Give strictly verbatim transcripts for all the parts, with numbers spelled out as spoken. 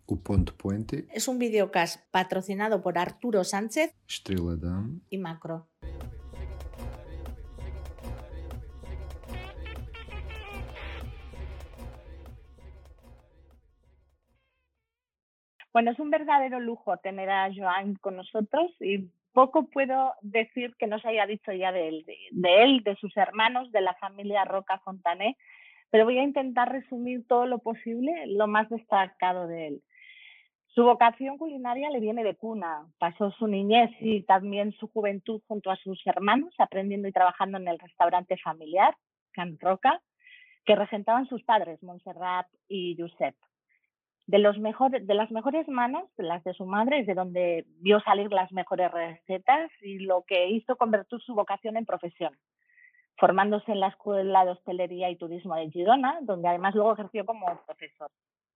O Ponto Puente, Es un videocast patrocinado por Arturo Sánchez Estrela Damm y Macro. Bueno, es un verdadero lujo tener a Joan con nosotros y poco puedo decir que no se haya dicho ya de él, de, de él, de sus hermanos, de la familia Roca Fontané, pero voy a intentar resumir todo lo posible, lo más destacado de él. Su vocación culinaria le viene de cuna. Pasó su niñez y también su juventud junto a sus hermanos, aprendiendo y trabajando en el restaurante familiar, Can Roca, que regentaban sus padres, Montserrat y Josep. De, los mejores, de las mejores manos, las de su madre, es de donde vio salir las mejores recetas y lo que hizo convertir su vocación en profesión, formándose en la Escuela de Hostelería y Turismo de Girona, donde además luego ejerció como profesor.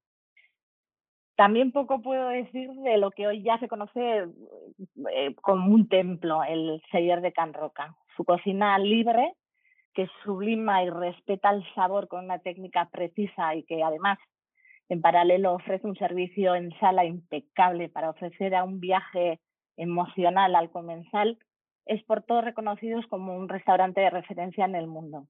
También poco puedo decir de lo que hoy ya se conoce eh, como un templo, el Celler de Can Roca. Su cocina libre, que sublima y respeta el sabor con una técnica precisa y que además en paralelo ofrece un servicio en sala impecable para ofrecer a un viaje emocional al comensal, es por todos reconocidos como un restaurante de referencia en el mundo.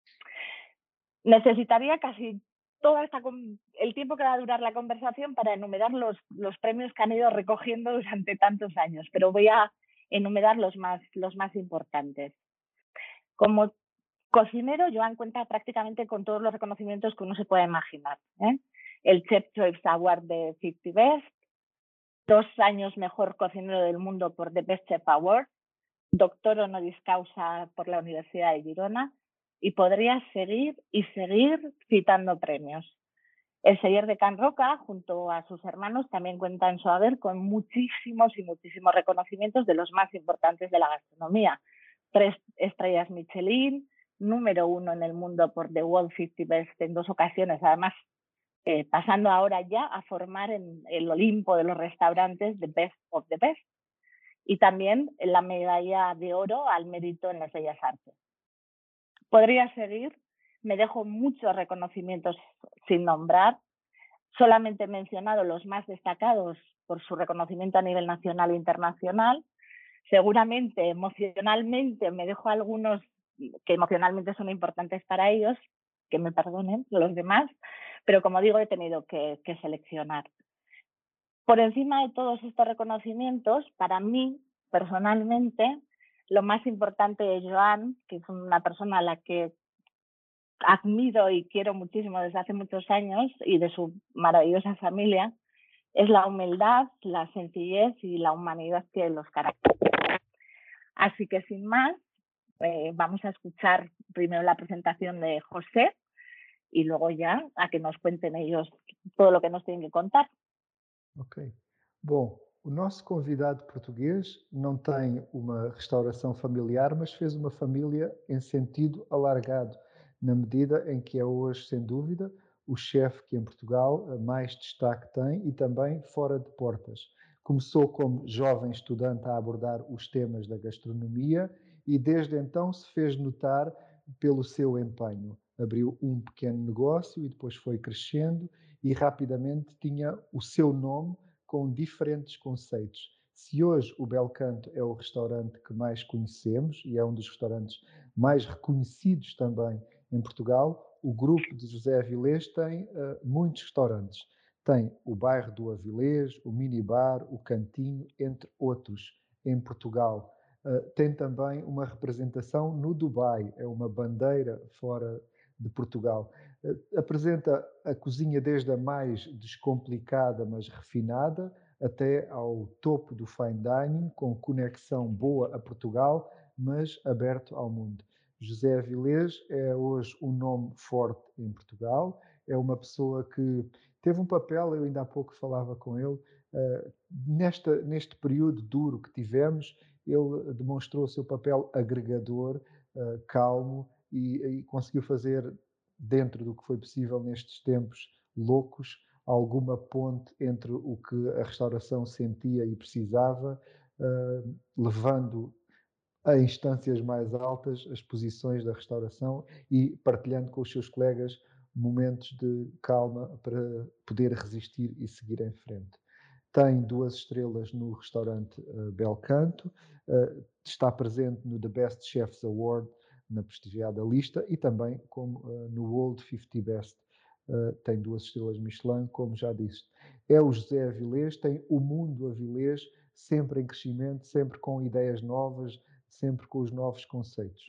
Necesitaría casi todo esta, el tiempo que va a durar la conversación para enumerar los, los premios que han ido recogiendo durante tantos años, pero voy a enumerar los más, los más importantes. Como cocinero, Joan cuenta prácticamente con todos los reconocimientos que uno se pueda imaginar, ¿eh? El Chef Choice Award de cincuenta Best, dos años mejor cocinero del mundo por The Best Chef Award, doctor honoris causa por la Universidad de Girona, y podría seguir y seguir citando premios. El Celler de Can Roca, junto a sus hermanos, también cuenta en su haber con muchísimos y muchísimos reconocimientos de los más importantes de la gastronomía. Tres estrellas Michelin, número uno en el mundo por The World cincuenta Best en dos ocasiones, además eh, pasando ahora ya a formar en el Olimpo de los restaurantes The Best of the Best, y también la medalla de oro al mérito en las bellas artes. Podría seguir, me dejo muchos reconocimientos sin nombrar, solamente he mencionado los más destacados por su reconocimiento a nivel nacional e internacional. Seguramente emocionalmente me dejo algunos que emocionalmente son importantes para ellos, que me perdonen los demás, pero como digo, he tenido que, que seleccionar. Por encima de todos estos reconocimientos, para mí, personalmente, lo más importante de Joan, que es una persona a la que admiro y quiero muchísimo desde hace muchos años, y de su maravillosa familia, es la humildad, la sencillez y la humanidad que los caracteriza. Así que sin más, eh, vamos a escuchar primero la presentación de José y luego ya a que nos cuenten ellos todo lo que nos tienen que contar. Ok. Bom, o nosso convidado português não tem uma restauração familiar, mas fez uma família em sentido alargado, na medida em que é hoje, sem dúvida, o chefe que em Portugal mais destaque tem e também fora de portas. Começou como jovem estudante a abordar os temas da gastronomia e desde então se fez notar pelo seu empenho. Abriu um pequeno negócio e depois foi crescendo e rapidamente tinha o seu nome com diferentes conceitos. Se hoje o Bel Canto é o restaurante que mais conhecemos e é um dos restaurantes mais reconhecidos também em Portugal, o grupo de José Avilés tem uh, muitos restaurantes. Tem o bairro do Avilés, o Minibar, o Cantinho, entre outros, em Portugal. Uh, tem também uma representação no Dubai, é uma bandeira fora de Portugal. Uh, apresenta a cozinha desde a mais descomplicada, mas refinada, até ao topo do fine dining, com conexão boa a Portugal, mas aberto ao mundo. José Avilés é hoje um nome forte em Portugal, é uma pessoa que teve um papel, eu ainda há pouco falava com ele, uh, nesta, neste período duro que tivemos, ele demonstrou o seu papel agregador, uh, calmo, e, e conseguiu fazer, dentro do que foi possível nestes tempos loucos, alguma ponte entre o que a restauração sentia e precisava, uh, levando a instâncias mais altas as posições da restauração e partilhando com os seus colegas momentos de calma para poder resistir e seguir em frente. Tem duas estrelas no restaurante uh, Belcanto, uh, está presente no The Best Chefs Award, na prestigiada lista, e também como, uh, no World cinquenta Best, uh, tem duas estrelas Michelin, como já disse. É o José Avilés, tem o mundo Avilés, sempre em crescimento, sempre com ideias novas, sempre com os novos conceitos.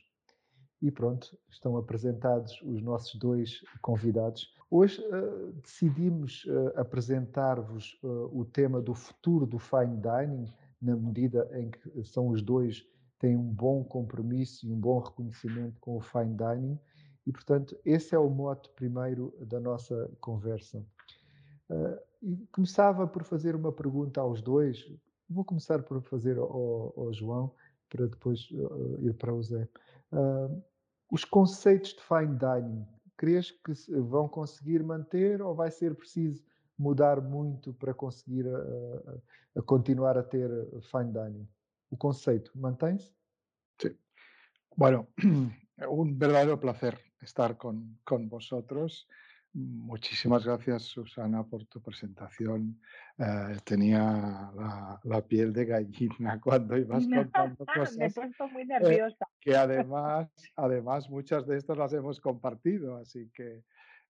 E pronto, estão apresentados os nossos dois convidados. Hoje uh, decidimos uh, apresentar-vos uh, o tema do futuro do fine dining, na medida em que são os dois, têm um bom compromisso e um bom reconhecimento com o fine dining. E, portanto, esse é o mote primeiro da nossa conversa. Uh, e começava por fazer uma pergunta aos dois. Vou começar por fazer ao, ao João, para depois uh, ir para o Zé. Uh, os conceitos de fine dining, crees que vão conseguir manter ou vai ser preciso mudar muito para conseguir uh, a continuar a ter fine dining? O conceito mantém-se? Sí. Bueno, un verdadero placer estar con, con vosotros. Muchísimas gracias, Susana, por tu presentación. Eh, tenía la, la piel de gallina cuando ibas contando Me he cosas puesto muy eh, nerviosa. que además, además muchas de estas las hemos compartido, así que,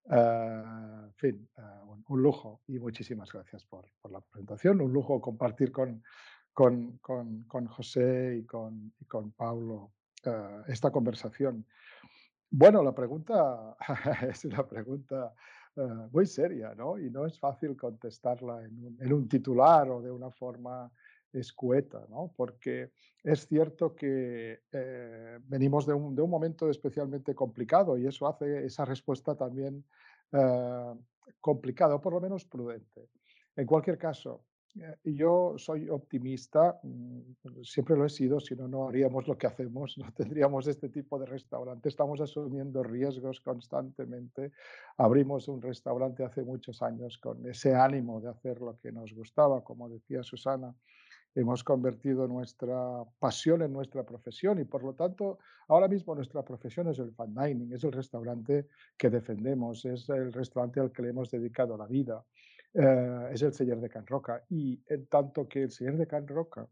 eh, en fin, eh, un, un lujo y muchísimas gracias por, por la presentación. Un lujo compartir con, con, con, con José y con, y con Paulo uh, esta conversación. Bueno, la pregunta es una pregunta uh, muy seria, ¿no? Y no es fácil contestarla en un, en un titular o de una forma escueta, ¿no? Porque es cierto que eh, venimos de un, de un momento especialmente complicado y eso hace esa respuesta también uh, complicada o por lo menos prudente. En cualquier caso, eh, yo soy optimista, mm, siempre lo he sido, si no, no haríamos lo que hacemos, no tendríamos este tipo de restaurante. Estamos asumiendo riesgos constantemente. Abrimos un restaurante hace muchos años con ese ánimo de hacer lo que nos gustaba, como decía Susana. Hemos convertido nuestra pasión en nuestra profesión y por lo tanto ahora mismo nuestra profesión es el fine dining, es el restaurante que defendemos, es el restaurante al que le hemos dedicado la vida, eh, es el Celler de Can Roca y en tanto que el Celler de Can Roca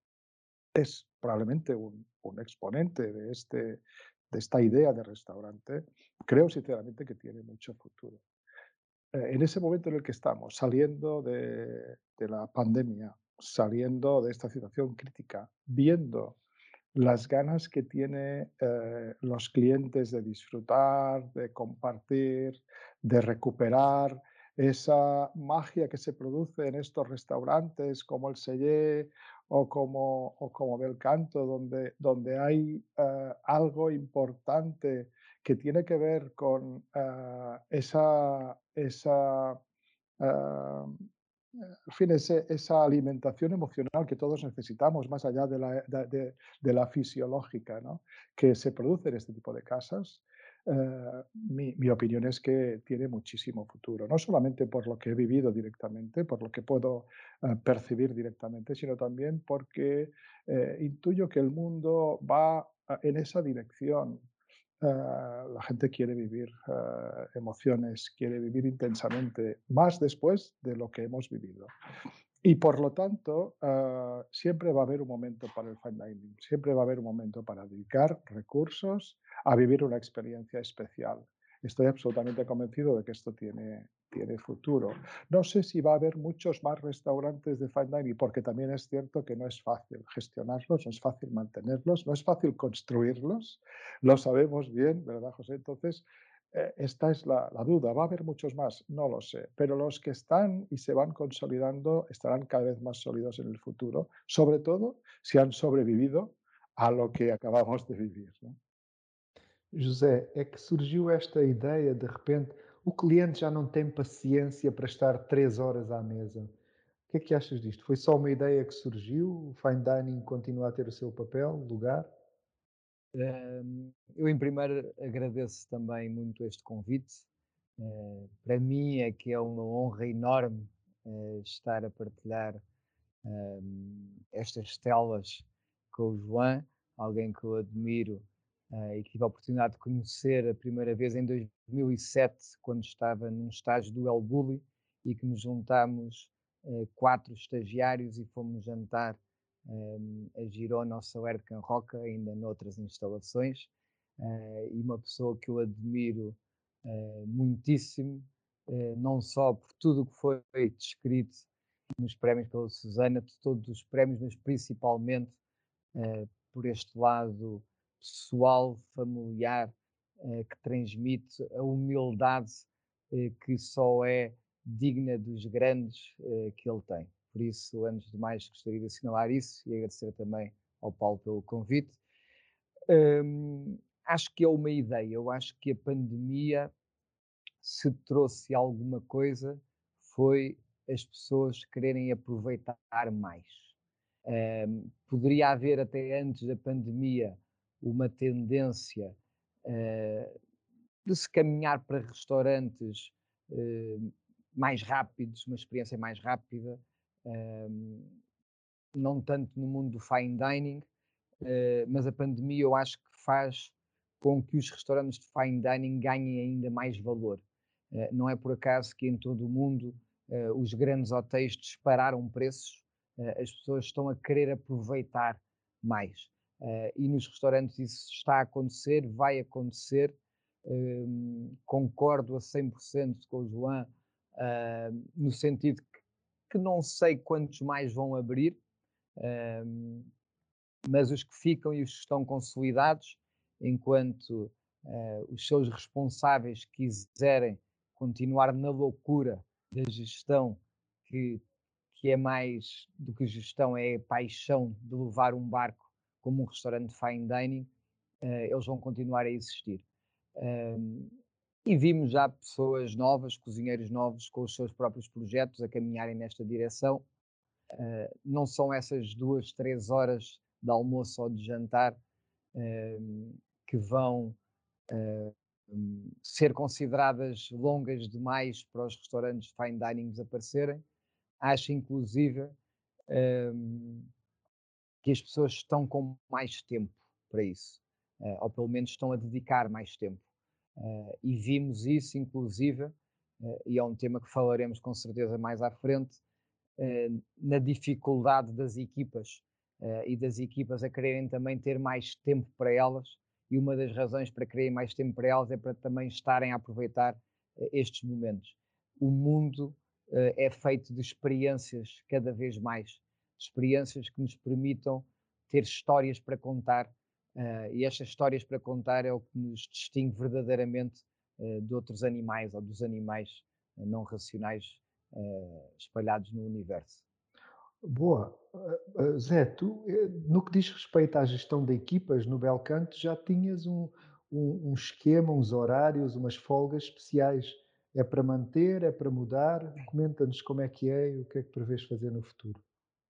es probablemente un, un exponente de, este, de esta idea de restaurante, creo sinceramente que tiene mucho futuro. Eh, en ese momento en el que estamos, saliendo de, de la pandemia, saliendo de esta situación crítica, viendo las ganas que tienen eh, los clientes de disfrutar, de compartir, de recuperar esa magia que se produce en estos restaurantes como el Sellé o como, o como Belcanto, donde, donde hay eh, algo importante que tiene que ver con uh, esa, esa, uh, en fin, ese, esa alimentación emocional que todos necesitamos, más allá de la, de, de, de la fisiológica, ¿no? Que se produce en este tipo de casas. Uh, mi, mi opinión es que tiene muchísimo futuro, no solamente por lo que he vivido directamente, por lo que puedo uh, percibir directamente, sino también porque uh, intuyo que el mundo va uh, en esa dirección. Uh, la gente quiere vivir uh, emociones, quiere vivir intensamente, más después de lo que hemos vivido. Y por lo tanto, uh, siempre va a haber un momento para el fine dining, siempre va a haber un momento para dedicar recursos a vivir una experiencia especial. Estoy absolutamente convencido de que esto tiene, tiene futuro. No sé si va a haber muchos más restaurantes de fine dining, porque también es cierto que no es fácil gestionarlos, no es fácil mantenerlos, no es fácil construirlos. Lo sabemos bien, ¿verdad, José? Entonces, eh, esta es la, la duda. ¿Va a haber muchos más? No lo sé. Pero los que están y se van consolidando estarán cada vez más sólidos en el futuro, sobre todo si han sobrevivido a lo que acabamos de vivir, ¿no? José, é que surgiu esta ideia, de repente, o cliente já não tem paciência para estar três horas à mesa. O que é que achas disto? Foi só uma ideia que surgiu? O fine dining continua a ter o seu papel, lugar? Um, eu, em primeiro, agradeço também muito este convite. Uh, para mim é que é uma honra enorme uh, estar a partilhar um, estas telas com o João, alguém que eu admiro uh, e que tive a oportunidade de conhecer a primeira vez em dois mil e sete, quando estava num estágio do El Bulli, e que nos juntámos uh, quatro estagiários e fomos jantar um, a Girona ao Saler de Can Roca, ainda noutras instalações, uh, e uma pessoa que eu admiro uh, muitíssimo, uh, não só por tudo o que foi descrito nos prémios pela Susana, de todos os prémios, mas principalmente uh, por este lado pessoal, familiar, uh, que transmite a humildade uh, que só é digna dos grandes uh, que ele tem. Por isso, antes de mais, gostaria de assinalar isso e agradecer também ao Paulo pelo convite. Um, acho que é uma ideia. Eu acho que a pandemia, se trouxe alguma coisa, foi as pessoas quererem aproveitar mais. Um, poderia haver até antes da pandemia uma tendência uh, de se caminhar para restaurantes uh, mais rápidos, uma experiência mais rápida, um, não tanto no mundo do fine dining, uh, mas a pandemia eu acho que faz com que os restaurantes de fine dining ganhem ainda mais valor. Uh, não é por acaso que em todo o mundo uh, os grandes hotéis dispararam preços, uh, as pessoas estão a querer aproveitar mais. Uh, e nos restaurantes isso está a acontecer, vai acontecer. Um, concordo a cem por cento com o João, uh, no sentido que, que não sei quantos mais vão abrir, um, mas os que ficam e os que estão consolidados, enquanto uh, os seus responsáveis quiserem continuar na loucura da gestão, que, que é mais do que gestão, é a paixão de levar um barco como um restaurante de fine dining, uh, eles vão continuar a existir. Um, e vimos já pessoas novas, cozinheiros novos, com os seus próprios projetos a caminharem nesta direção. Uh, não são essas duas, três horas de almoço ou de jantar uh, que vão uh, um, ser consideradas longas demais para os restaurantes de fine dining desaparecerem. Acho, inclusive, um, que as pessoas estão com mais tempo para isso, uh, ou pelo menos estão a dedicar mais tempo. Uh, e vimos isso, inclusive, uh, e é um tema que falaremos com certeza mais à frente, uh, na dificuldade das equipas uh, e das equipas a quererem também ter mais tempo para elas, e uma das razões para quererem mais tempo para elas é para também estarem a aproveitar uh, estes momentos. O mundo uh, é feito de experiências cada vez mais, experiências que nos permitam ter histórias para contar. Uh, e estas histórias para contar é o que nos distingue verdadeiramente uh, de outros animais ou dos animais uh, não racionais uh, espalhados no universo. Boa. Uh, uh, Zé, tu, no que diz respeito à gestão de equipas no Belcanto, já tinhas um, um, um esquema, uns horários, umas folgas especiais. É para manter, é para mudar? Comenta-nos como é que é e o que é que prevês fazer no futuro.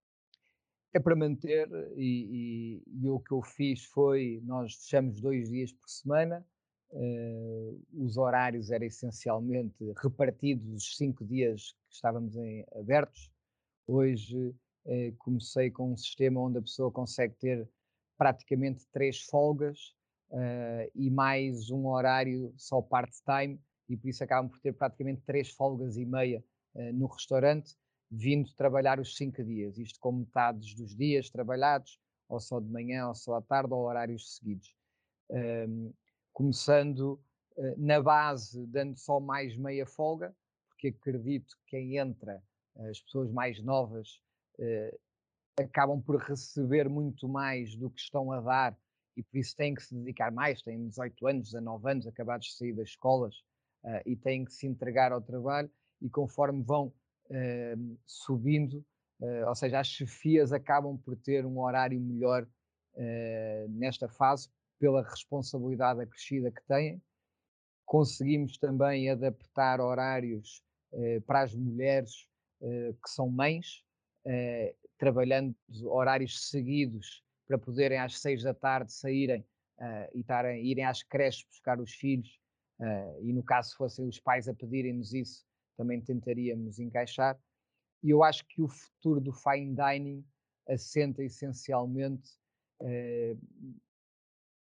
É para manter, e, e, e o que eu fiz foi, nós fechamos dois dias por semana, uh, os horários eram essencialmente repartidos os cinco dias que estávamos em, abertos. Hoje uh, comecei com um sistema onde a pessoa consegue ter praticamente três folgas uh, e mais um horário só part-time, e por isso acabam por ter praticamente três folgas e meia uh, no restaurante, vindo trabalhar os cinco dias, isto com metades dos dias trabalhados, ou só de manhã, ou só à tarde, ou horários seguidos. Um, começando uh, na base, dando só mais meia folga, porque acredito que quem entra, as pessoas mais novas, uh, acabam por receber muito mais do que estão a dar, e por isso têm que se dedicar mais, têm dezoito anos, dezanove anos, acabados de sair das escolas, uh, e têm que se entregar ao trabalho, e conforme vão Uh, subindo, uh, ou seja, as chefias acabam por ter um horário melhor uh, nesta fase, pela responsabilidade acrescida que têm. Conseguimos também adaptar horários uh, para as mulheres uh, que são mães, uh, trabalhando horários seguidos para poderem às seis da tarde saírem uh, e tarem, irem às creches buscar os filhos, uh, e no caso fossem os pais a pedirem-nos isso, também tentaríamos encaixar. E eu acho que o futuro do fine dining assenta essencialmente eh,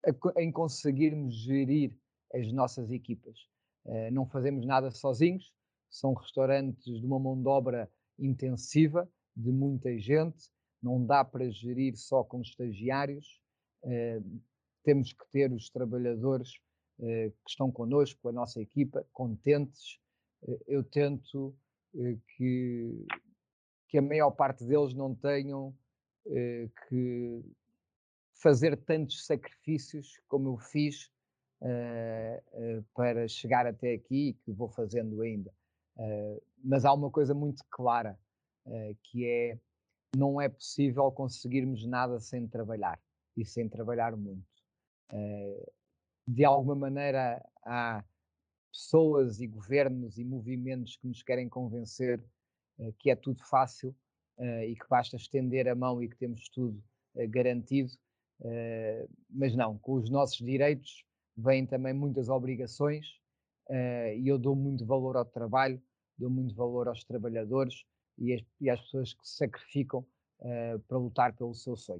a co- em conseguirmos gerir as nossas equipas. Eh, não fazemos nada sozinhos, são restaurantes de uma mão de obra intensiva, de muita gente, não dá para gerir só com estagiários, eh, temos que ter os trabalhadores eh, que estão connosco, a nossa equipa, contentes. Eh, eu tento eh, que, que a maior parte deles não tenham eh, que fazer tantos sacrifícios como eu fiz eh, eh, para chegar até aqui e que vou fazendo ainda. Eh, mas há uma coisa muito clara, eh, que é não é possível conseguirmos nada sem trabalhar e sem trabalhar muito. Eh, de alguma maneira há pessoas e governos e movimentos que nos querem convencer eh, que é tudo fácil eh, e que basta estender a mão e que temos tudo eh, garantido. Eh, mas não, com os nossos direitos vêm também muitas obrigações eh, e eu dou muito valor ao trabalho, dou muito valor aos trabalhadores e, as- e às pessoas que se sacrificam eh, para lutar pelo seu sonho.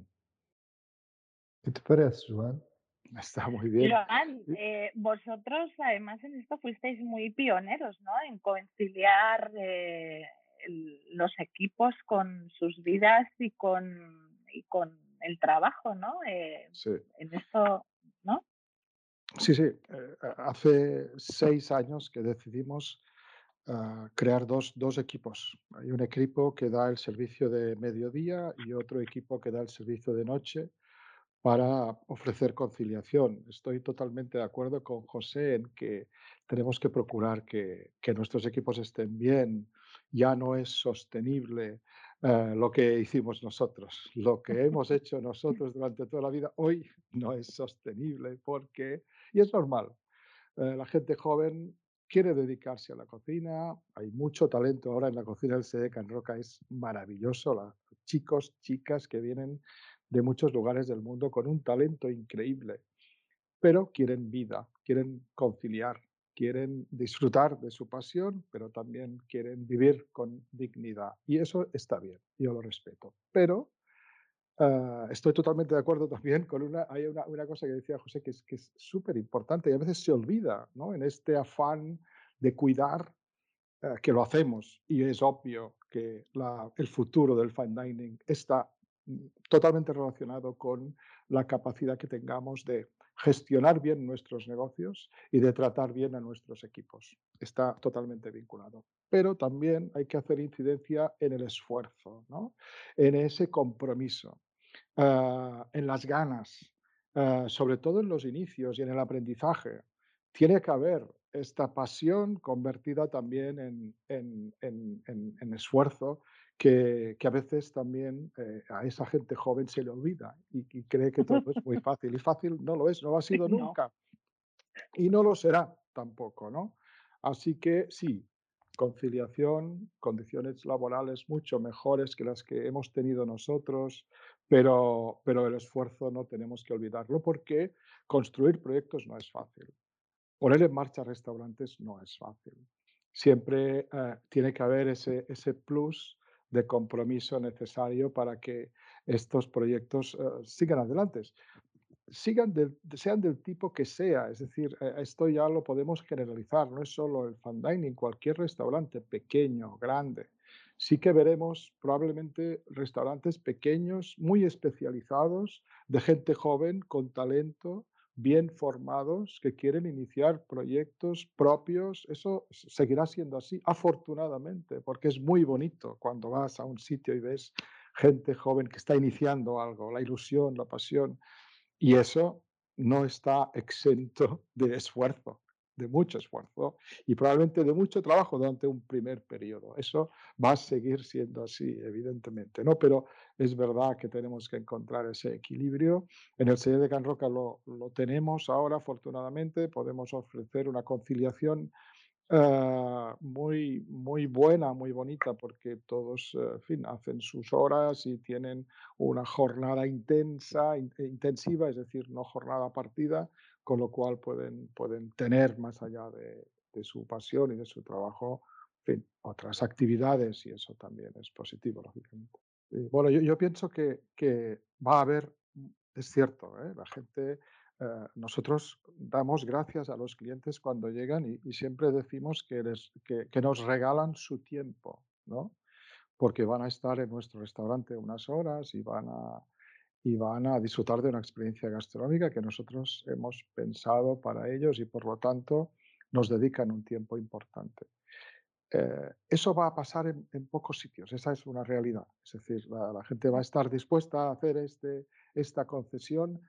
¿Qué te parece, Joan? Está muy bien. Joan, eh, vosotros además en esto fuisteis muy pioneros, ¿no? En conciliar eh, el- los equipos con sus vidas y con, y con el trabajo, ¿no? Eh, Sí. en esto, ¿no? Sí, sí. eh, hace seis años que decidimos ah, crear dos, dos equipos. Hay un equipo que da el servicio de mediodía y otro equipo que da el servicio de noche para ofrecer conciliación. Estoy totalmente de acuerdo con José en que tenemos que procurar que, que nuestros equipos estén bien. Ya no es sostenible eh, lo que hicimos nosotros. Lo que hemos hecho nosotros durante toda la vida hoy no es sostenible porque, y es normal, eh, la gente joven quiere dedicarse a la cocina, hay mucho talento ahora en la cocina del S E D Can Roca, es maravilloso, la- chicos, chicas que vienen de muchos lugares del mundo con un talento increíble, pero quieren vida, quieren conciliar, quieren disfrutar de su pasión, pero también quieren vivir con dignidad. Y eso está bien, yo lo respeto. Pero Ah, estoy totalmente de acuerdo también con una, hay una, una cosa que decía José que es que es súper importante y a veces se olvida, ¿no? En este afán de cuidar, eh, que lo hacemos y es obvio que la- el futuro del fine dining está mm, totalmente relacionado con la capacidad que tengamos de gestionar bien nuestros negocios y de tratar bien a nuestros equipos. Está totalmente vinculado. Pero también hay que hacer incidencia en el esfuerzo, ¿no? En ese compromiso ah, en las ganas, ah, sobre todo en los inicios y en el aprendizaje. Tiene que haber esta pasión convertida también en, en- en- en- en esfuerzo que, que a veces también eh, a esa gente joven se le olvida y, y cree que todo es muy fácil. Y fácil no lo es, no lo ha sido No. nunca y no lo será tampoco, ¿no? Así que sí, conciliación, condiciones laborales mucho mejores que las que hemos tenido nosotros, pero, pero el esfuerzo no tenemos que olvidarlo porque construir proyectos no es fácil. Poner en marcha restaurantes no es fácil. Siempre eh, tiene que haber ese, ese plus de compromiso necesario para que estos proyectos eh, sigan adelante sigan del, sean del tipo que sea, es decir, eh, esto ya lo podemos generalizar, no es solo el fine dining, cualquier restaurante, pequeño, grande. Sí que veremos probablemente restaurantes pequeños, muy especializados, de gente joven, con talento, bien formados, que quieren iniciar proyectos propios. Eso s- seguirá siendo así, afortunadamente, porque es muy bonito cuando vas a un sitio y ves gente joven que está iniciando algo, la ilusión, la pasión. Y eso no está exento de esfuerzo, de mucho esfuerzo y probablemente de mucho trabajo durante un primer periodo. Eso va a seguir siendo así, evidentemente, ¿no? Pero es verdad que tenemos que encontrar ese equilibrio. En el sello de Can Roca lo, lo tenemos ahora, afortunadamente, podemos ofrecer una conciliación Ah, muy, muy buena, muy bonita, porque todos, eh, en fin, hacen sus horas y tienen una jornada intensa, in- eh, intensiva, es decir, no jornada partida, con lo cual pueden, pueden tener más allá de, de su pasión y de su trabajo, en fin, otras actividades y eso también es positivo, lógicamente. Y bueno, yo, yo pienso que, que va a haber, mm, es cierto, ¿eh? La gente eh, nosotros damos gracias a los clientes cuando llegan y, y siempre decimos que, les- que, que nos regalan su tiempo, ¿no? Porque van a estar en nuestro restaurante unas horas y van a, y van a disfrutar de una experiencia gastronómica que nosotros hemos pensado para ellos y por lo tanto nos dedican un tiempo importante. Eh, eso va a pasar en, en pocos sitios, esa es una realidad. Es decir, la, la gente va a estar dispuesta a hacer este, esta concesión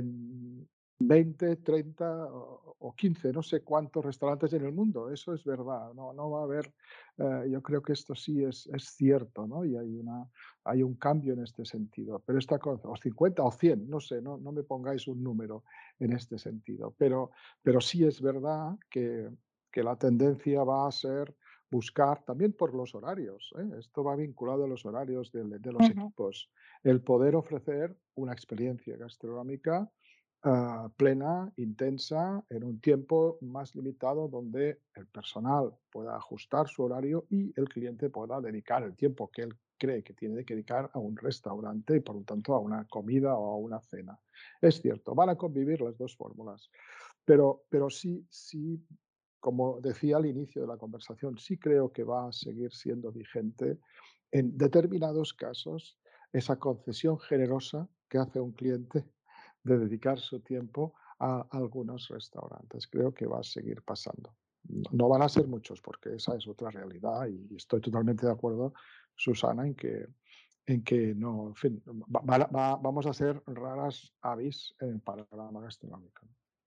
en veinte, treinta o, o quince, no sé cuántos restaurantes en el mundo. Eso es verdad, no, no va a haber, eh, yo creo que esto sí es, es cierto, ¿no? Y hay, una, hay un cambio en este sentido. Pero esta, con- o cincuenta o cien, no sé, no, no me pongáis un número en este sentido. Pero, pero sí es verdad que, que la tendencia va a ser buscar también por los horarios, ¿eh? Esto va vinculado a los horarios del- de, los Ujú, equipos, el poder ofrecer una experiencia gastronómica ah, plena, intensa, en un tiempo más limitado donde el personal pueda ajustar su horario y el cliente pueda dedicar el tiempo que él cree que tiene que dedicar a un restaurante y por lo tanto a una comida o a una cena. Es cierto, van a convivir las dos fórmulas, pero, pero sí, sí, como decía al inicio de la conversación, sí creo que va a seguir siendo vigente en determinados casos esa concesión generosa que hace un cliente de dedicar su tiempo a algunos restaurantes. Creo que va a seguir pasando. No, no van a ser muchos porque esa es otra realidad y estoy totalmente de acuerdo, Susana, en que, en que no, en fin, va- va- va- vamos a ser raras avis en el panorama gastronómico.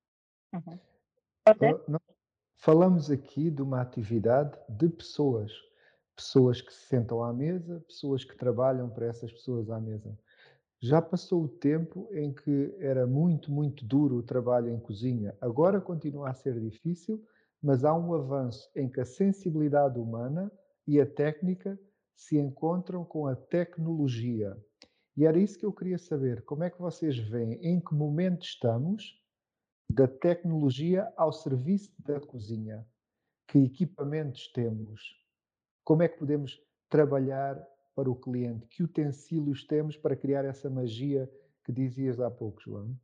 ujú. José, Ah, nós falamos aqui de uma atividade de pessoas, pessoas que se sentam à mesa, pessoas que trabalham para essas pessoas à mesa. Já passou o tempo em que era muito, muito duro o trabalho em cozinha. Agora continua a ser difícil, mas há um avanço em que a sensibilidade humana e a técnica se encontram com a tecnologia. E era isso que eu queria saber. Como é que vocês veem? Em que momento estamos da tecnologia ao serviço da cozinha? Que equipamentos temos? Como é que podemos trabalhar para o cliente? Que utensílios temos para criar essa magia que dizias há pouco, João?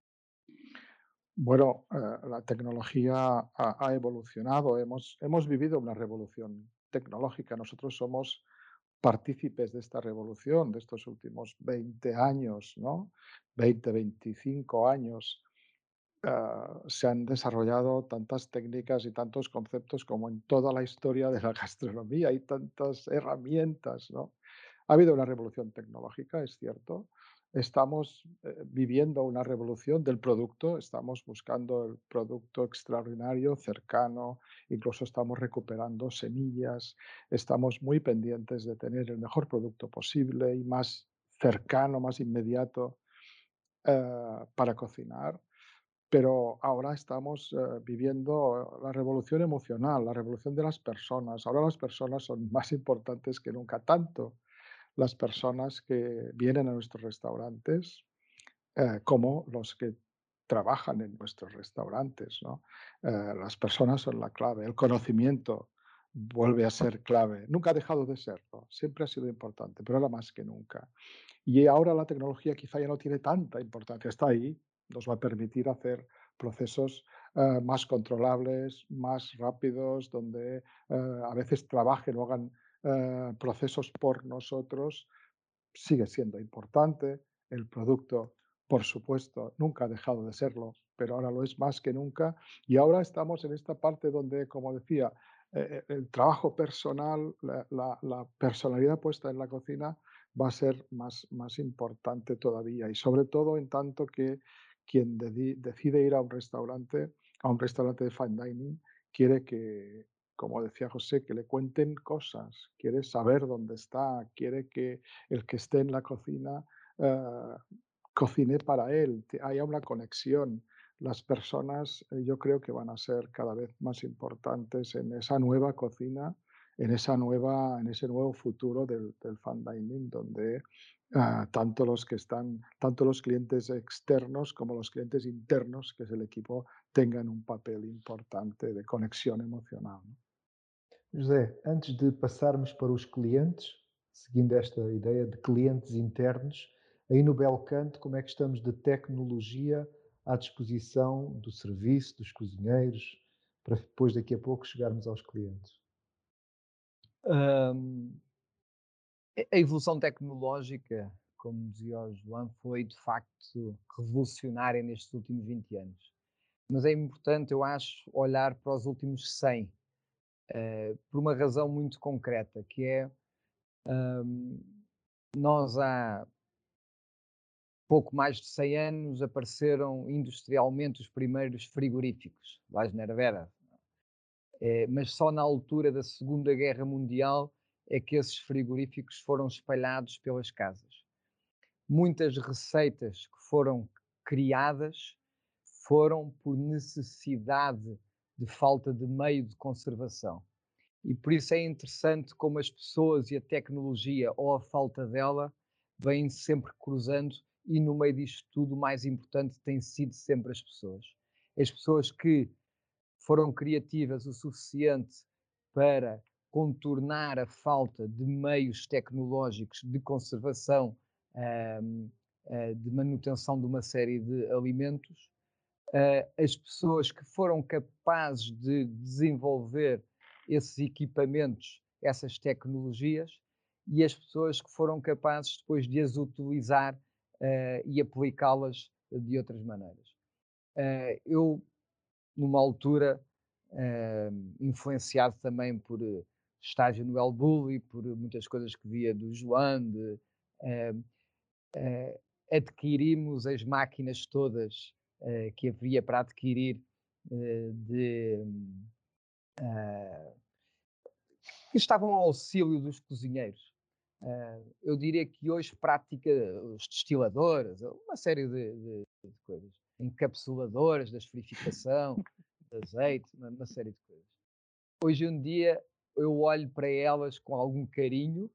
Bueno, eh, la tecnología ha, ha evolucionado, hemos, hemos vivido una revolución tecnológica. Nosotros somos partícipes de esta revolución de estos últimos veinte años, ¿no? veinte, veinticinco años. Ah, se han desarrollado tantas técnicas y tantos conceptos como en toda la historia de la gastronomía. Hay tantas herramientas, ¿no? Ha habido una revolución tecnológica, es cierto. Estamos eh, viviendo una revolución del producto, estamos buscando el producto extraordinario, cercano, incluso estamos recuperando semillas, estamos muy pendientes de tener el mejor producto posible y más cercano, más inmediato eh, para cocinar. Pero ahora estamos eh, viviendo la revolución emocional, la revolución de las personas. Ahora las personas son más importantes que nunca, tanto las personas que vienen a nuestros restaurantes eh, como los que trabajan en nuestros restaurantes, ¿no? Eh, las personas son la clave, el conocimiento vuelve a ser clave. Nunca ha dejado de serlo, siempre ha sido importante, pero ahora más que nunca. Y ahora la tecnología quizá ya no tiene tanta importancia, está ahí, nos va a permitir hacer procesos eh, más controlables, más rápidos, donde eh, a veces trabajen o hagan eh, procesos por nosotros. Sigue siendo importante, el producto, por supuesto, nunca ha dejado de serlo, pero ahora lo es más que nunca. Y ahora estamos en esta parte donde, como decía, eh, el trabajo personal, la, la- la personalidad puesta en la cocina va a ser más, más importante todavía. Y sobre todo en tanto que quien dedi- decide ir a un restaurante, a un restaurante de fine dining, quiere que, como decía José, que le cuenten cosas, quiere saber dónde está, quiere que el que esté en la cocina eh, cocine para él, que haya una conexión. Las personas eh, yo creo que van a ser cada vez más importantes en esa nueva cocina, en, esa nueva, en ese nuevo futuro del, del fine dining, donde ah, tanto los que están, tanto los clientes externos como los clientes internos, que es el equipo, tengan un papel importante de conexión emocional, ¿no? José, antes de passarmos para os clientes, seguindo esta ideia de clientes internos, aí no Belcanto, como é que estamos de tecnologia à disposição do serviço, dos cozinheiros, para depois daqui a pouco chegarmos aos clientes? Hum, a a evolução tecnológica, como dizia o João, foi de facto revolucionária nestes últimos vinte anos. Mas é importante, eu acho, olhar para os últimos cem, eh, por uma razão muito concreta, que é, hum, nós há pouco mais de cem anos apareceram industrialmente os primeiros frigoríficos, lá na Vera. Eh, mas só na altura da Segunda Guerra Mundial é que esses frigoríficos foram espalhados pelas casas. Muitas receitas que foram criadas foram por necessidade de falta de meio de conservação. E por isso é interessante como as pessoas e a tecnologia, ou a falta dela, vêm sempre cruzando, e no meio disto tudo o mais importante tem sido sempre as pessoas. As pessoas que foram criativas o suficiente para contornar a falta de meios tecnológicos de conservação, hum, eh, de manutenção de uma série de alimentos. Uh, as pessoas que foram capazes de desenvolver esses equipamentos, essas tecnologias, e as pessoas que foram capazes depois de as utilizar uh, e aplicá-las de outras maneiras. Uh, eu, numa altura, uh, influenciado também por uh, estágio no El Bulli, por muitas coisas que via do João, de, uh, uh, adquirimos as máquinas todas uh, que havia para adquirir, uh, de, uh, que estavam ao auxílio dos cozinheiros. Uh, eu diria que hoje prática os destiladores, uma série de, de, de coisas, encapsuladoras, da esferificação, de azeite, uma, uma série de coisas. Hoje em dia eu olho para elas com algum carinho,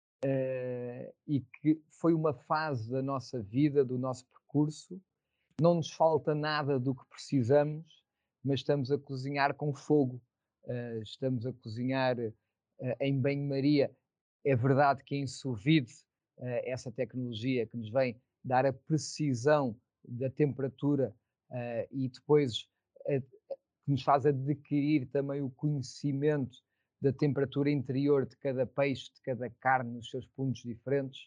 uh, e que foi uma fase da nossa vida, do nosso percurso. Não nos falta nada do que precisamos, mas estamos a cozinhar com fogo, uh, estamos a cozinhar uh, em banho-maria. É verdade que em sous vide, uh, essa tecnologia que nos vem dar a precisão da temperatura, uh, e depois uh, que nos faz adquirir também o conhecimento da temperatura interior de cada peixe, de cada carne, nos seus pontos diferentes.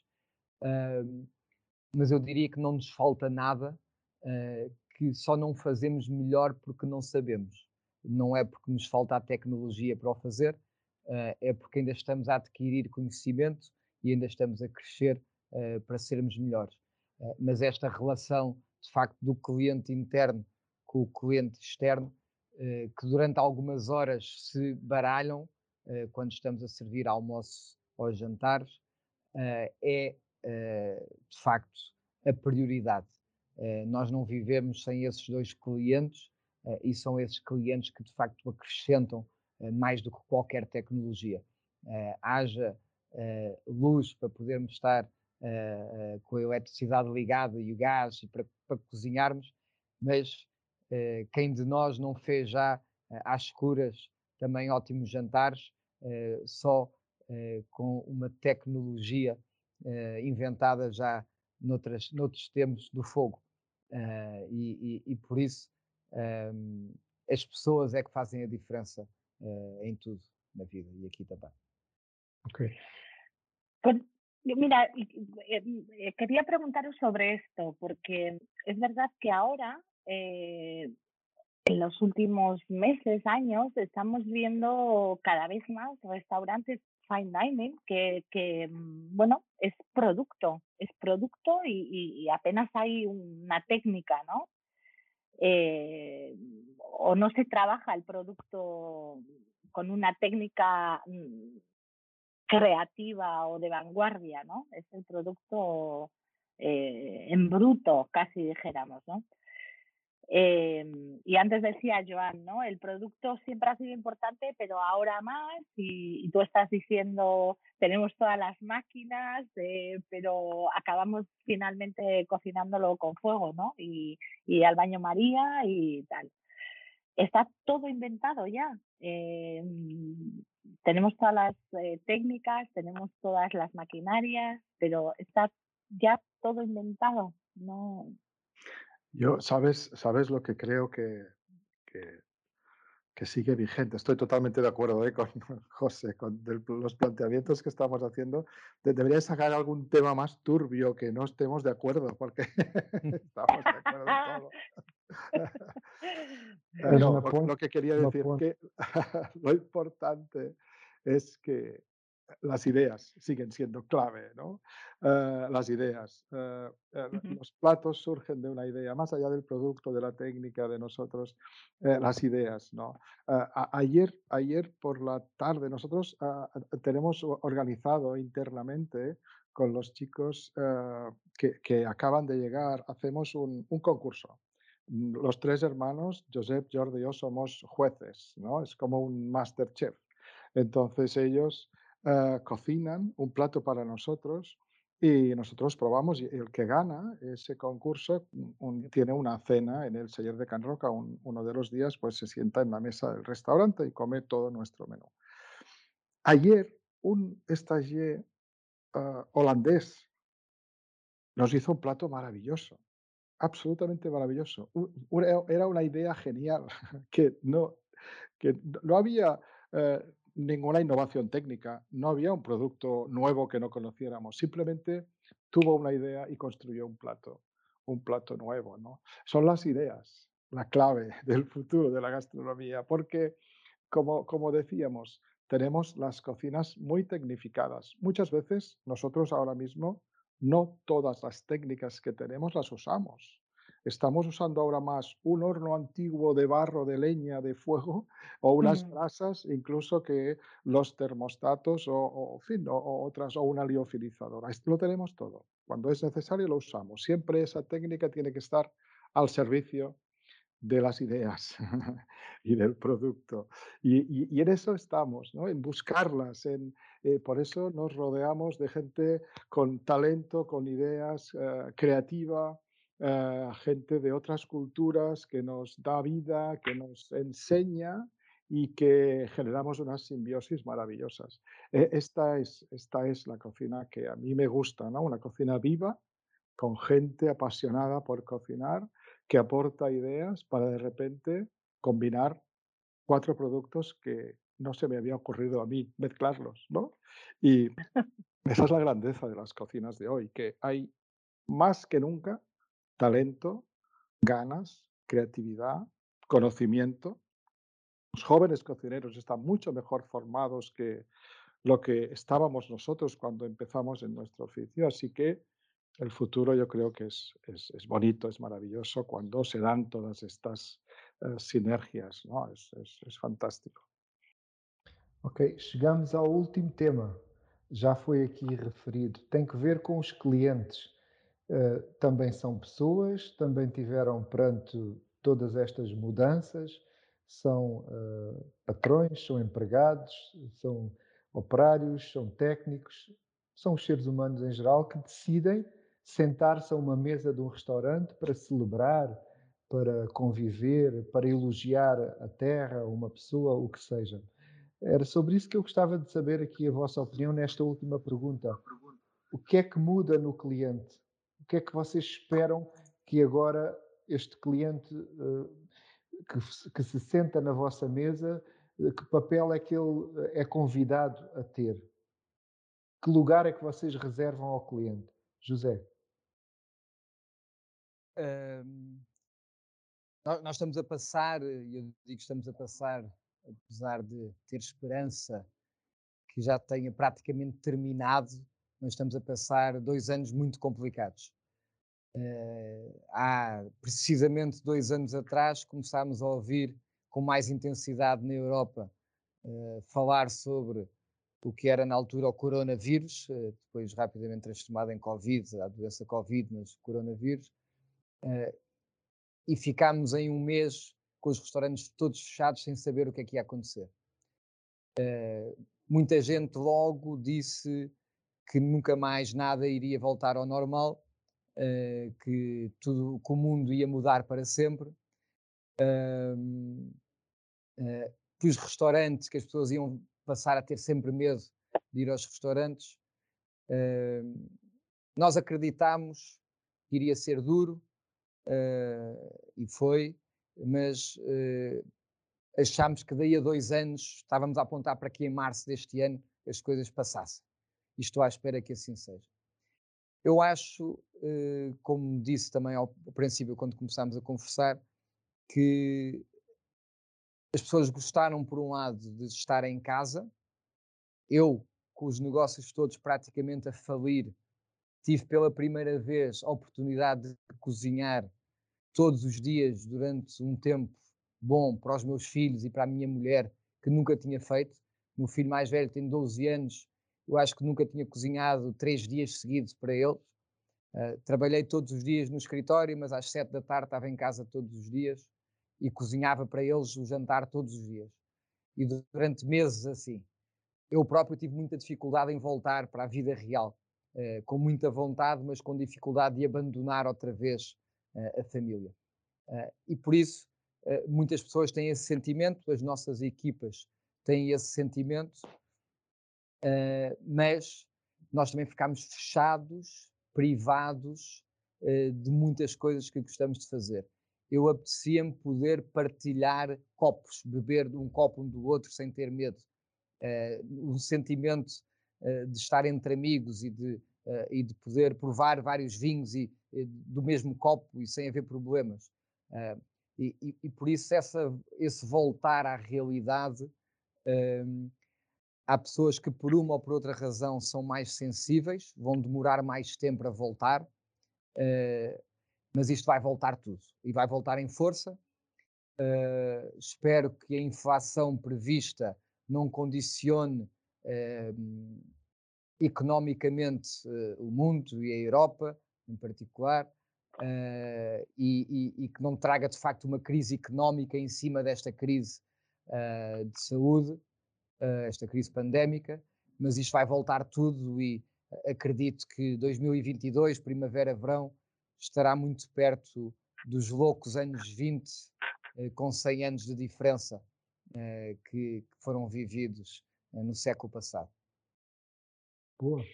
Uh, mas eu diria que não nos falta nada, uh, que só não fazemos melhor porque não sabemos. Não é porque nos falta a tecnologia para o fazer, uh, é porque ainda estamos a adquirir conhecimento e ainda estamos a crescer uh, para sermos melhores. Uh, mas esta relação, de facto, do cliente interno com o cliente externo, uh, que durante algumas horas se baralham, uh, quando estamos a servir almoço ou jantares, uh, é Uh, de facto, a prioridade. Uh, nós não vivemos sem esses dois clientes, uh, e são esses clientes que, de facto, acrescentam uh, mais do que qualquer tecnologia. Uh, haja uh, luz para podermos estar uh, uh, com a eletricidade ligada e o gás e para, para cozinharmos, mas uh, quem de nós não fez já uh, às escuras também ótimos jantares, uh, só uh, com uma tecnologia Uh, inventada já noutras, noutros tempos do fogo. Uh, e, e, e por isso um, as pessoas é que fazem a diferença uh, em tudo na vida, e aqui também. Ok. Pues, mira, eh, quería preguntaros sobre esto, porque es verdad que ahora, eh, en los últimos meses, años, estamos viendo cada vez más restaurantes fine dining que, que bueno, es producto, es producto y, y apenas hay una técnica, ¿no? Eh, o no se trabaja el producto con una técnica creativa o de vanguardia, ¿no? Es el producto eh, en bruto, casi dijéramos, ¿no? Eh, y antes decía Joan, ¿no? El producto siempre ha sido importante, pero ahora más, y, y tú estás diciendo, tenemos todas las máquinas, eh, pero acabamos finalmente cocinándolo con fuego, ¿no? Y, y al baño María y tal. Está todo inventado ya. Eh, tenemos todas las eh, técnicas, tenemos todas las maquinarias, pero está ya todo inventado, ¿no? Yo, ¿sabes, sabes lo que creo que, que, que sigue vigente? Estoy totalmente de acuerdo, ¿eh? Con José, con del- los planteamientos que estamos haciendo. De- debería sacar algún tema más turbio que no estemos de acuerdo, porque estamos de acuerdo en todo. Eh, Mas no, na lo, ponte, lo que quería na decir ponte, que lo importante es que las ideas siguen siendo clave, ¿no? Eh, las ideas. Eh, eh, Ujú. los platos surgen de una idea, más allá del producto, de la técnica, de nosotros, eh, las ideas, ¿no? Eh, a- ayer, ayer por la tarde nosotros ah, ah, tenemos o- organizado internamente con los chicos eh, que, que acaban de llegar, hacemos un, un concurso. Mm, Los tres hermanos, Josep, Jordi y yo, somos jueces, ¿no? Es como un MasterChef. Entonces ellos eh, cocinan un plato para nosotros y nosotros probamos y el que gana ese concurso mm, un- tiene una cena en el Celler de Can Roca. Un- uno de los días pues se sienta en la mesa del restaurante y come todo nuestro menú. Ayer un stagiaire ah, holandés nos hizo un plato maravilloso. Absolutamente maravilloso. U una era una idea genial que no que no no había, eh, ninguna innovación técnica, no había un producto nuevo que no conociéramos, simplemente tuvo una idea y construyó un plato, un plato nuevo, ¿no? Son las ideas la clave del futuro de la gastronomía, porque como, como decíamos, tenemos las cocinas muy tecnificadas. Muchas veces nosotros ahora mismo no todas las técnicas que tenemos las usamos. Estamos usando ahora más un horno antiguo de barro, de leña, de fuego, o unas Mm. brasas, incluso que los termostatos o, o, en fin, o, o otras, o una liofilizadora. Esto lo tenemos todo. Cuando es necesario lo usamos. Siempre esa técnica tiene que estar al servicio de las ideas y del producto. Y, y- y en eso estamos, ¿no? En buscarlas. En, eh, por eso nos rodeamos de gente con talento, con ideas, eh, creativa, eh, gente de otras culturas que nos da vida, que nos enseña y que generamos unas simbiosis maravillosas. Eh, esta, es, esta es la cocina que a mí me gusta, ¿no? Una cocina viva, con gente apasionada por cocinar, que aporta ideas para de repente combinar cuatro productos que no se me había ocurrido a mí mezclarlos, ¿no? Y esa es la grandeza de las cocinas de hoy, que hay más que nunca talento, ganas, creatividad, conocimiento. Los jóvenes cocineros están mucho mejor formados que lo que estábamos nosotros cuando empezamos en nuestro oficio, así que el futuro yo creo que es, es, es bonito, es maravilloso cuando se dan todas estas eh, sinergias, ¿no? Es, es, es fantástico. ok, chegamos ao último tema. Já foi aqui referido. Tem que ver com os clientes. Eh, também são pessoas, também tiveram perante todas estas mudanças, são eh, patrões, são empregados, são operários, são técnicos, são os seres humanos em geral que decidem sentar-se a uma mesa de um restaurante para celebrar, para conviver, para elogiar a terra, uma pessoa, o que seja. Era sobre isso que eu gostava de saber aqui a vossa opinião nesta última pergunta. O que é que muda no cliente? O que é que vocês esperam que agora este cliente eh, que, se- que se senta na vossa mesa, eh, que papel é que ele eh, é convidado a ter? Que lugar é que vocês reservam ao cliente? José. Ahm, nó- nós estamos a passar, e eu digo que estamos a passar, apesar de ter esperança que já tenha praticamente terminado, nós estamos a passar dois anos muito complicados. Eh, há precisamente dois anos atrás começámos a ouvir com mais intensidade na Europa eh, falar sobre o que era na altura o coronavírus, eh, depois rapidamente transformado em Covid, a doença Covid, mas coronavírus, e ficámos em um mês com os restaurantes todos fechados sem saber o que é que ia acontecer. Muita gente logo disse que nunca mais nada iria voltar ao normal, eh, que tudo, que o mundo ia mudar para sempre, que os restaurantes, que as pessoas iam passar a ter sempre medo de ir aos restaurantes. Nós acreditámos que iria ser duro, uh, e foi, mas uh, achámos que daí a dois anos estávamos a apontar para que em março deste ano as coisas passassem. E estou à espera que assim seja. Eu acho, uh, como disse também ao, ao princípio, quando começámos a conversar, que as pessoas gostaram, por um lado, de estar em casa. Eu, com os negócios todos praticamente a falir, tive pela primeira vez a oportunidade de cozinhar todos os dias durante um tempo bom para os meus filhos e para a minha mulher, que nunca tinha feito. O meu filho mais velho tem doze anos, eu acho que nunca tinha cozinhado três dias seguidos para eles. Uh, trabalhei todos os dias no escritório, mas às sete da tarde estava em casa todos os dias e cozinhava para eles o jantar todos os dias. E durante meses assim. Eu próprio tive muita dificuldade em voltar para a vida real, uh, com muita vontade, mas com dificuldade de abandonar outra vez uh, a família. Uh, e por isso, uh, muitas pessoas têm esse sentimento, as nossas equipas têm esse sentimento, uh, mas nós também ficámos fechados, privados uh, de muitas coisas que gostamos de fazer. Eu apetecia-me poder partilhar copos, beber de um copo um do outro sem ter medo. Uh, um sentimento uh, de estar entre amigos e de, uh, e de poder provar vários vinhos e, e do mesmo copo e sem haver problemas. Uh, e, e, e por isso essa, esse voltar à realidade, uh, há pessoas que por uma ou por outra razão são mais sensíveis, vão demorar mais tempo a voltar, uh, mas isto vai voltar tudo e vai voltar em força. Uh, espero que a inflação prevista não condicione uh, economicamente uh, o mundo e a Europa em particular, uh, e, e, e que não traga de facto uma crise económica em cima desta crise uh, de saúde, uh, esta crise pandémica, mas isto vai voltar tudo e acredito que dois mil e vinte e dois, primavera-verão, estará muito perto dos loucos anos vinte, com cem anos de diferença uh, que, que foram vividos uh, no século passado. Boa.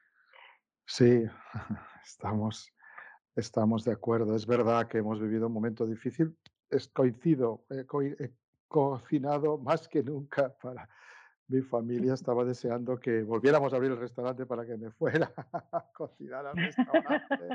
Sí, estamos, estamos de acuerdo. Es verdad que hemos vivido un momento difícil. Es, coincido, he, co he cocinado más que nunca para mi familia. Estaba deseando que volviéramos a abrir el restaurante para que me fuera a cocinar al restaurante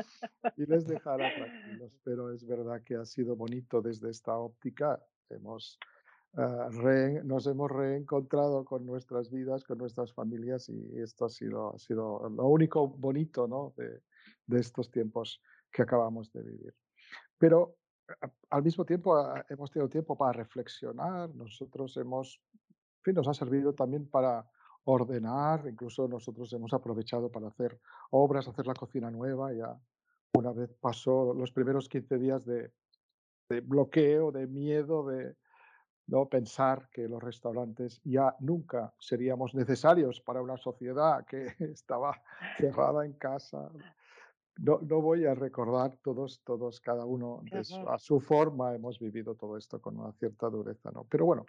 y les dejara tranquilos. Pero es verdad que ha sido bonito desde esta óptica. Hemos, uh, re, nos hemos reencontrado con nuestras vidas, con nuestras familias, y esto ha sido, ha sido lo único bonito, ¿no?, de, de estos tiempos que acabamos de vivir. Pero a, al mismo tiempo a, hemos tenido tiempo para reflexionar. Nosotros hemos, en fin, nos ha servido también para ordenar. Incluso nosotros hemos aprovechado para hacer obras, hacer la cocina nueva. Ya una vez pasó los primeros quince días de, de bloqueo, de miedo, de no pensar que los restaurantes ya nunca seríamos necesarios para una sociedad que estaba cerrada en casa. No, no voy a recordar todos, todos, cada uno de su, a su forma hemos vivido todo esto con una cierta dureza, ¿no? Pero bueno,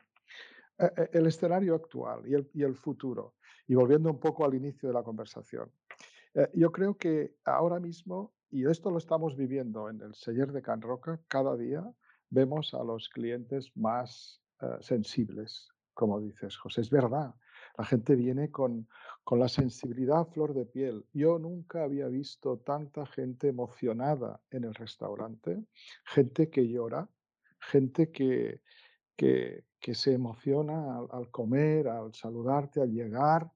eh, el escenario actual y el, y el futuro, y volviendo un poco al inicio de la conversación, eh, yo creo que ahora mismo, y esto lo estamos viviendo en el Celler de Can Roca, cada día vemos a los clientes más uh, sensibles, como dices, José. Es verdad, la gente viene con, con la sensibilidad a flor de piel. Yo nunca había visto tanta gente emocionada en el restaurante, gente que llora, gente que, que, que se emociona al, al comer, al saludarte, al llegar.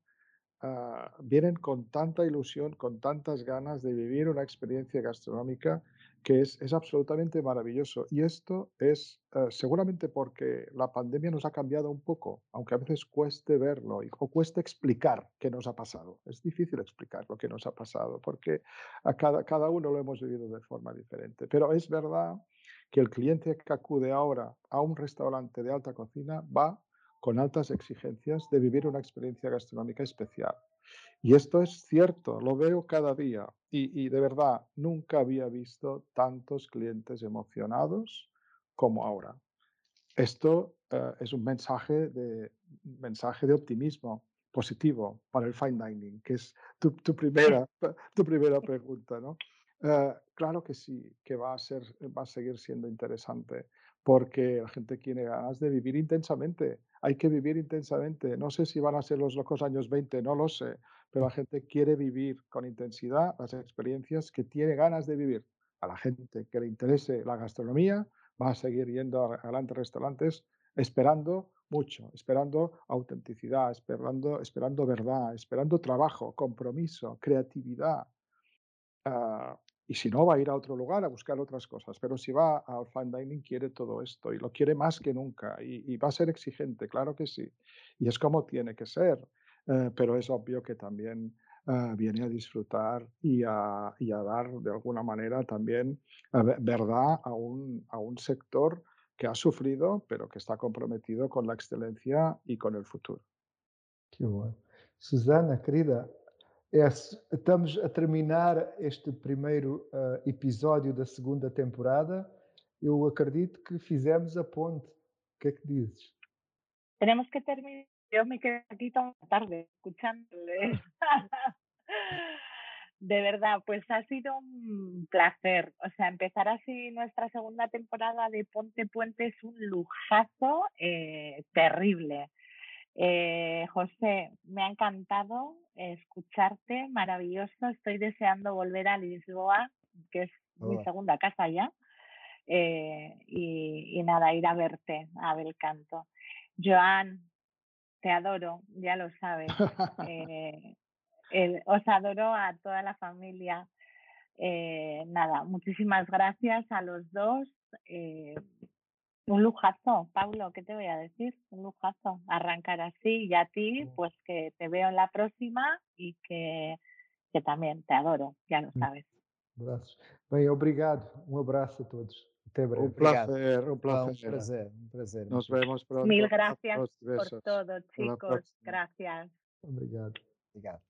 Uh, vienen con tanta ilusión, con tantas ganas de vivir una experiencia gastronómica que es, es absolutamente maravilloso. Y esto es uh, seguramente porque la pandemia nos ha cambiado un poco, aunque a veces cueste verlo y, o cueste explicar qué nos ha pasado. Es difícil explicar lo que nos ha pasado porque a cada, cada uno lo hemos vivido de forma diferente. Pero es verdad que el cliente que acude ahora a un restaurante de alta cocina va con altas exigencias de vivir una experiencia gastronómica especial. Y esto es cierto, lo veo cada día. Y, y de verdad, nunca había visto tantos clientes emocionados como ahora. Esto uh, es un mensaje de, mensaje de optimismo positivo para el fine dining, que es tu, tu, primera, tu primera pregunta, ¿no? Eh, claro que sí, que va a ser, va a seguir siendo interesante, porque la gente tiene ganas de vivir intensamente. Hay que vivir intensamente. No sé si van a ser los locos años veinte, no lo sé, pero la gente quiere vivir con intensidad las experiencias que tiene ganas de vivir. A la gente que le interese la gastronomía va a seguir yendo a grandes restaurantes esperando mucho, esperando autenticidad, esperando, esperando verdad, esperando trabajo, compromiso, creatividad. Ah, y si no, va a ir a otro lugar a buscar otras cosas. Pero si va al fine dining, quiere todo esto y lo quiere más que nunca. Y, y va a ser exigente, claro que sí. Y es como tiene que ser. Eh, pero es obvio que también eh, viene a disfrutar y a, y a dar de alguna manera también eh, ve- verdad a un, a un sector que ha sufrido, pero que está comprometido con la excelencia y con el futuro. Que bom. Susana, querida, é, estamos a terminar este primeiro ah, episódio da segunda temporada. Eu acredito que fizemos a ponte. O que é que dizes? Tenemos que terminar. Yo me quedé aquí toda la tarde escuchándole. De verdad, pues ha sido un placer. O sea, empezar así nuestra segunda temporada de Ponte Puente es un lujazo eh, terrible. Eh, José, me ha encantado escucharte, maravilloso. Estoy deseando volver a Lisboa, que es mi Boa. segunda casa ya. Eh, y, y nada, ir a verte, a Belcanto. Joan, te adoro, ya lo sabes. Eh, el, os adoro a toda la familia. Eh, nada, muchísimas gracias a los dos. Eh, un lujazo, Paulo, ¿qué te voy a decir? Un lujazo arrancar así y a ti, pues que te veo en la próxima y que, que también te adoro, ya lo sabes. Abraços. Bem, obrigado. Um abraço a todos. Até Un breve. Obrigado. placer, un Ah, um placer. prazer, um prazer. Nos muito vemos pronto. Mil gracias Abrazos, por besos. todo, Hasta la chicos. próxima. Gracias. Obrigado. Obrigado.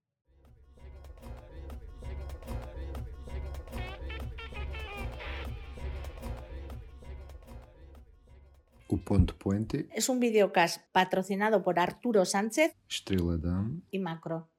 O Ponto Puente, Es un videocast patrocinado por Arturo Sánchez Estrela Damm. y Macro.